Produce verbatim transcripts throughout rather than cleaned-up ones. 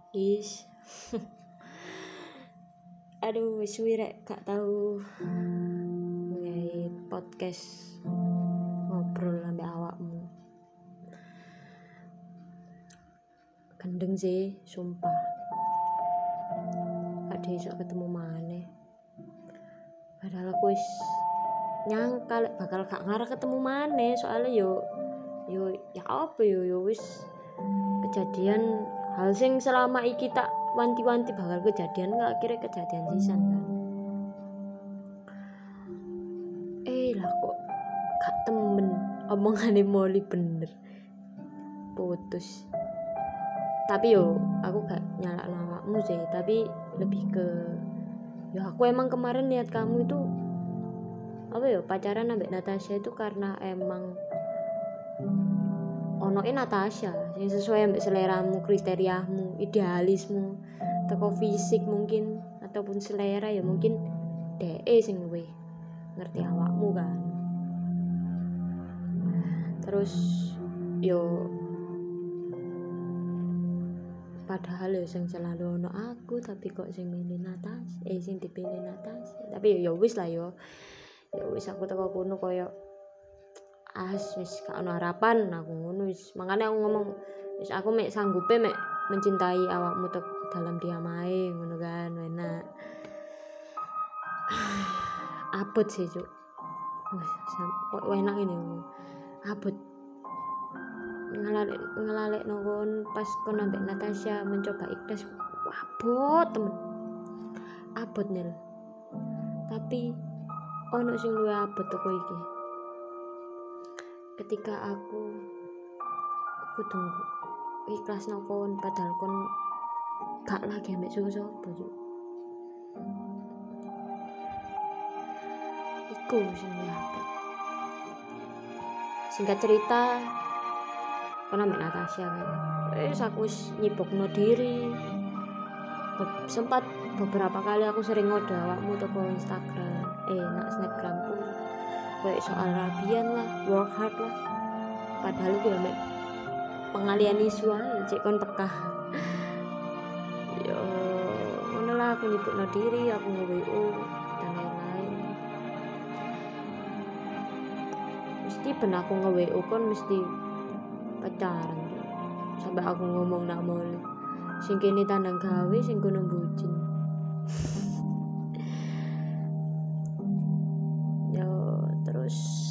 Is. Aduh, wis suwi rek gak tau ngai podcast ngobrol ambek awakmu. Gendeng sih, sumpah. Gak iso ketemu maneh. Padahal aku wis nyangka lek bakal gak ngarep ketemu maneh, soalnya yo yo ya apa yo yo wis kejadian hal sing selama iki tak wanti-wanti bakal kejadian, gak akhirnya kejadian sisan kan. Eh lah kok gak temen omongane Molly bener putus. Tapi yo aku gak nyalak awakmu sih, tapi lebih ke yo aku emang kemarin lihat kamu itu apa yo pacaran ambek Natasha itu karena emang onoke Natasha yang sesuai ambek seleramu, kriteriamu, idealismu, teko fisik mungkin ataupun selera ya mungkin D E sing luwih ngerti awakmu kan. Terus yo padahal yo sing selalu ono aku tapi kok sing milih Natasha, eh sing dipilih Natasha. Tapi yo wis lah yo. Ya wis aku teko kono koyo as wis gak ono harapan aku ngono wis. Makane aku ngomong wis aku mek sanggupe mek mencintai awakmu tek dalam diam ae ngono kan, enak. Abot sih, Cuk. Wis kok enak ini. Abot. Ngelalek ngelalek nongon pas kon ambek Natasha mencoba ikhlas. Abot temen. Abot nil. Tapi ono sing luwih abot teko iki. Ketika aku aku tunggu ikhlas nokon padahal kon gak lagi ambek sapa-sapa Cuk. Iku sing abot. Singkat cerita kon ambek Natasha kan. Wis aku wis nyibukno diri. Be- sempat beberapa kali aku sering ngode awakmu toko Instagram, eh nak Snapgramku. Kayak soal rabian lah, work hard lah. Padahal gue ambek pengalian isu ae cek kon pekah. Yo, ngono lah aku nyibukno diri, aku nge-W O dan lain-lain. Mesti ben aku nge-W O kon mesti pacaran. Sampai aku ngomong nak mole. Sing kene tandang gawe, sing kono bucin. Yo, terus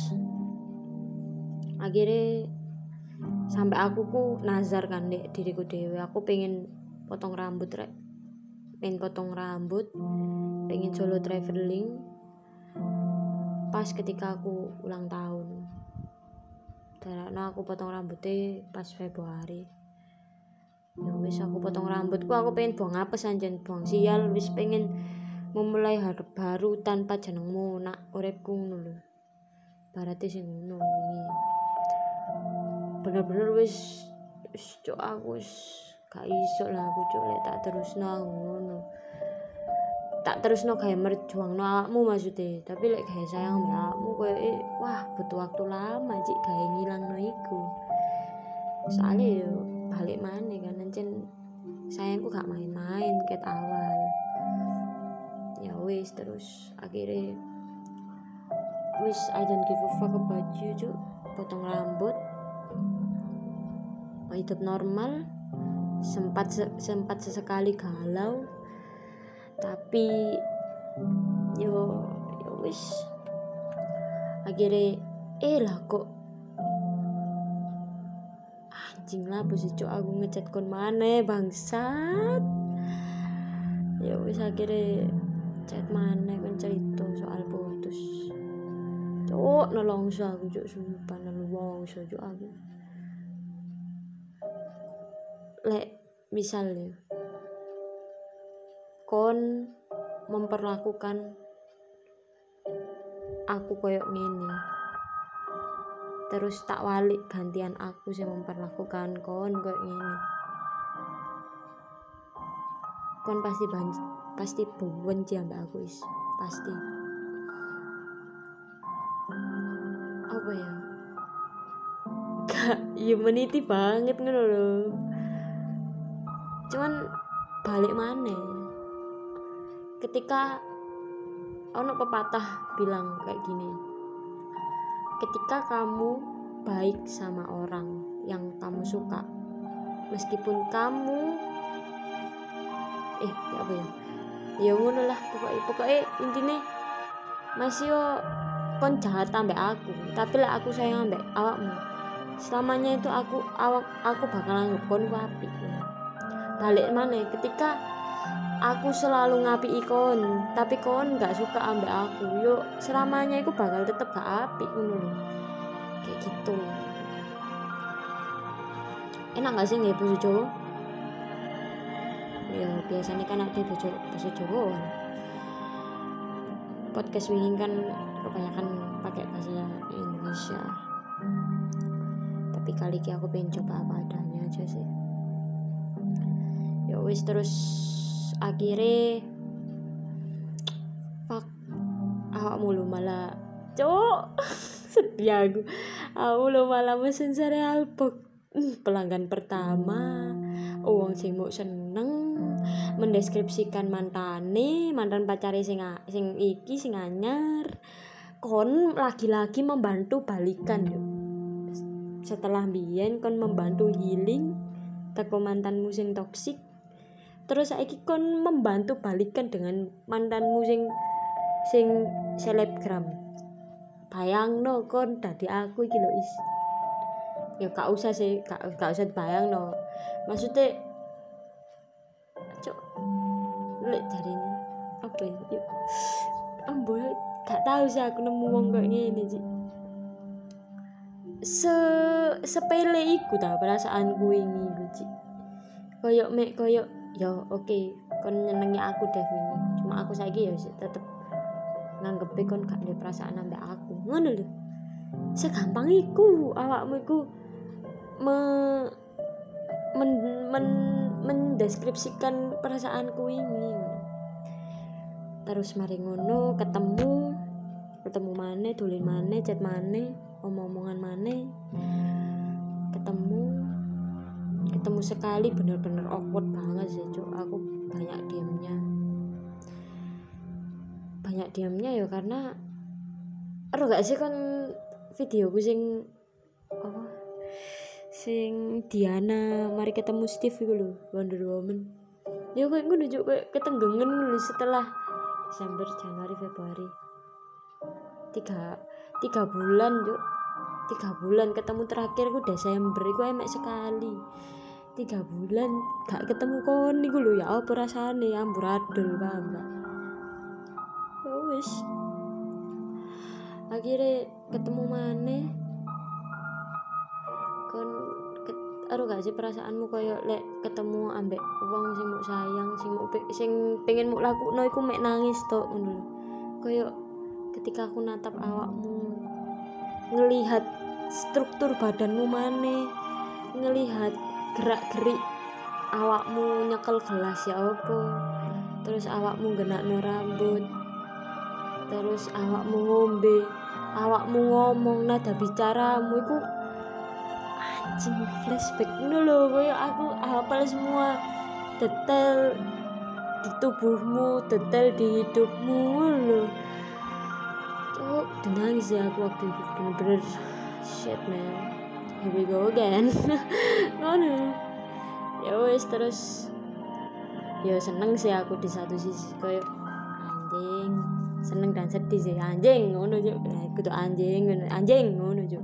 akhirnya sampai aku ku nazar kan dek diriku dewe, aku pengen potong rambut rek, pengen potong rambut, pengen solo traveling pas ketika aku ulang tahun. Dan aku potong rambutnya pas Februari. Ya wis aku potong rambutku, aku pengen buang apes anjen, buang sial, wis pengen memulai hari baru tanpa jenengmu nak uripku ngono lho. Barate sing ngono wingi. Bener-bener wis wis cuk aku wis gak iso lah aku cuk lek tak terusno aku ngono. Tak terusno gawe merjuangno awakmu maksudnya, tapi lek gawe sayang mbak awakmu koyo eh, wah butuh waktu lama cik gawe ngilangno iku. Soalnya yo balik maneh kan ancen sayangku gak main-main ket awal. Ya wis terus akhirnya wis I don't give a fuck about you cuk, potong rambut, hidup normal. Sempat sempat sesekali galau, tapi yo yo wis akhirnya eh lah kok anjing lah bos cuk aku ngechat kon maneh bangsat. Ya wis akhirnya chat maneh kon cerita soal putus. Cuk nolongso aku cuk sumpah nolongso cuk aku. Lek misalnya kon memperlakukan aku koyok ngene, terus tak walik gantian aku sing memperlakukan kon koyok ngene, kon pasti banci, pasti benci ambek aku is pasti. Apa ya? Gak humanity banget ngono lho. Cuman balik maneh. Ketika ono pepatah bilang kayak gini, ketika kamu baik sama orang yang kamu suka, meskipun kamu eh ya apa ya ya ngono lah pokoknya pokoknya intinya masih yo kon jahat ambek aku, tapi lah aku sayang ambek awakmu, selamanya itu aku awak aku bakal anggap kon ku apik. Balik mana ketika aku selalu ngapi kon tapi kon gak suka ambek aku, yo selamanya aku bakal tetep gak apik ngono lho. Kayak gitu. Enak gak sih nggak bojo Jawa? Ya biasanya kan ada bojo bojo Jawa. Podcast wingi kan kebanyakan pakai bahasa Indonesia. Tapi kali ini aku pengen coba apa adanya aja sih. Ya wis terus akhirnya fuck awak mulu malah cok sedih aku. Aku mulu malah mesen cereal box. Pelanggan pertama uang sing mau seneng mendeskripsikan mantane mantan pacare sing sing iki sing anyar, kon lagi-lagi membantu balikan yo. Setelah biyen kon membantu healing teko mantanmu sing toksik, terus saiki kon membantu balikan dengan mantanmu sing sing selebgram. Bayangno kon dadi aku iki lho is. Ya gak usah sih, gak, gak usah dibayangno. Maksudnya cok lek jarine apa ya? Ambo gak tahu sih aku nemu wong kayak ngene sih. Se sepele iku ta perasaanku ini iku sih. Koyok mek koyok ya oke, okay, kon nyenengi aku Dev ini. Cuma aku saiki ya tetep nganggep kon gak ada perasaan ambek aku. Ngono lho. Segampang iku awakmu iku me men, men mendeskripsikan perasaanku ini. Terus mari ngono ketemu ketemu maneh, dolen maneh, chat maneh, omong-omongan maneh. Ketemu ketemu sekali bener-bener awkward banget sih, Cuk. Aku banyak diamnya. Banyak diamnya ya karena aduh gak sih kan videoku sing apa sing Diana mari ketemu Steve iku lho, Wonder Woman. Ya kok ngono juk koyo ketenggengen lho setelah Desember, Januari, Februari. Tiga tiga bulan juk. Tiga bulan ketemu terakhir ku Desember iku emek sekali. Tiga bulan gak ketemu kon iku lho, ya apa rasane amburadul paham gak? Ya wis. Akhirnya ketemu maneh kon aduh gak sih perasaanmu koyo lek ketemu ambek wong sing mbok sayang, sing mbok sing pengen mbok lakukno iku mek nangis tok ngono lho. Koyo ketika aku natap awakmu, ngelihat struktur badanmu maneh, ngelihat gerak-gerik awakmu nyekel gelas ya apa, terus awakmu genakno rambut, terus awakmu ngombe, awakmu ngomong, nada bicaramu iku anjing flashback ngono lho, koyo aku hafal semua detail di tubuhmu, detail di hidupmu lho. Tuh nangis ya aku waktu itu bener-bener shit man, here we go again. Ngono ya wes terus ya seneng sih aku di satu sisi koyo anjing, seneng dan sedih sih anjing ngono juk, kudu anjing ngono anjing ngono juk.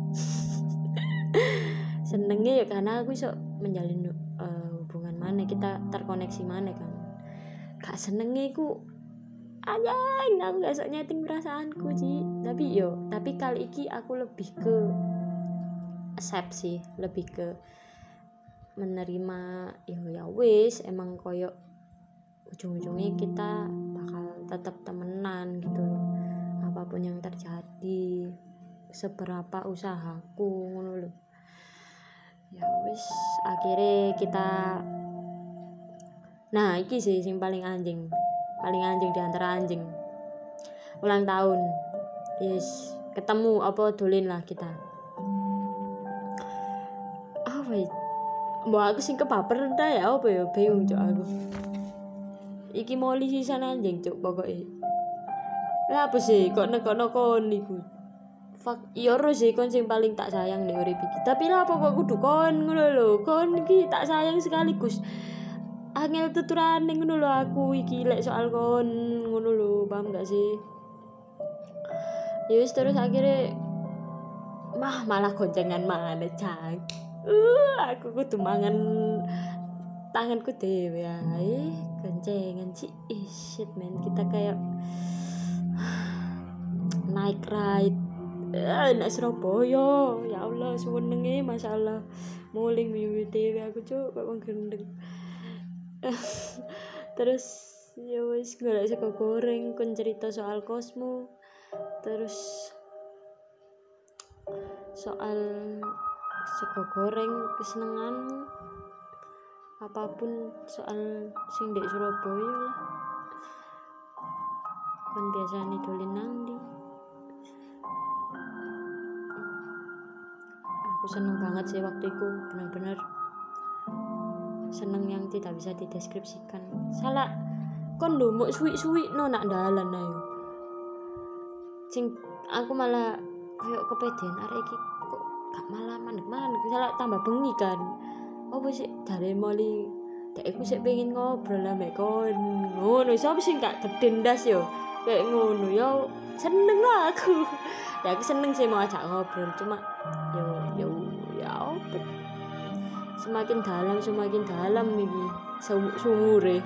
Senengnya ya karena aku iso menjalin uh, hubungan mana, kita terkoneksi mana kan. Gak senengnya iku anjing, aku gak sok nyeting perasaanku sih. Tapi yo, tapi kali iki aku lebih ke accept sih, lebih ke menerima yo ya wis emang koyo ujung-ujungnya kita bakal tetap temenan gitu loh. Apapun yang terjadi, seberapa usahaku ngono loh. Ya wis akhirnya kita nah iki sih sing paling anjing paling anjing di antara anjing ulang tahun yes ketemu apa dolen lah kita apa mbok aku sing kebaper ta ya apa ya bingung cuk aku. Iki moli sisan anjing cuk pokoke. Lah apa sih kok nekokno kon iku. Fuck, iya ro sih kon sing paling tak sayang nek urip iki. Tapi lah apa kok kudu kon ngono lho. Kon iki tak sayang sekaligus. Angel tuturane ngono lho aku iki lek soal kon ngono lho, paham gak sih? Ya wis terus akhirnya mah malah goncengan mana cang. Uh, aku kudu mangan tanganku dhewe ae goncengan sih. Ih shit man, kita kayak naik ride eh, nak Surabaya. Ya Allah senenge masalah muling wiwi dhewe aku cuk kok wong gendeng. Terus ya wis golek sego goreng kon cerita soal kosmu, terus soal sego goreng kesenenganmu, apapun soal sing dek Surabaya lah. Kon biasane dolen nang ndi? Aku seneng banget sih waktu itu, benar-benar seneng yang tidak bisa dideskripsikan. Salah kon lho mok suwi-suwi no nak dalan ayo. Sing aku malah koyo kepedean arek iki kok gak malah mandek-mandek, salah tambah bengi kan. Apa sih dari moli dek aku sik pengen ngobrol ambek kon. Ngono, sapa sing gak gedhe ndas yo. Kayak ngono yo seneng lah aku. Ya aku seneng sih mau ajak ngobrol, cuma yo yo ya apa semakin dalam semakin dalam iki sumure.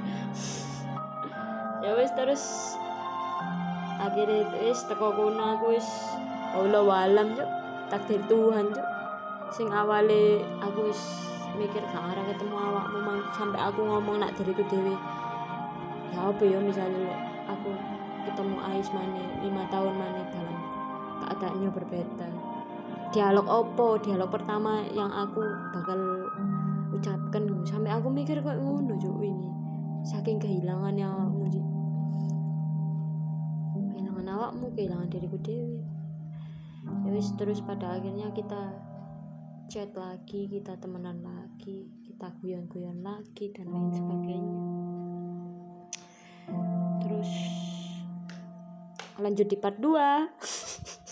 Ya wis terus akhirnya wis teko kono aku wis Allah walam cuk, takdir Tuhan cuk. Sing awale aku wis mikir gak arep ketemu awakmu mang sampai aku ngomong nak diriku dhewe. Ya apa ya misalnya aku ketemu Ais maneh lima tahun maneh dalam keadaannya berbeda. Dialog opo, dialog pertama yang aku bakal ucapkan sampai aku mikir kok ngono juk wingi. Saking kehilangannya awakmu. Kehilangan awakmu, kehilangan diriku dewi. Ya wis terus pada akhirnya kita chat lagi, kita temenan lagi, kita guyon-guyon lagi dan lain sebagainya. Terus lanjut di part dua.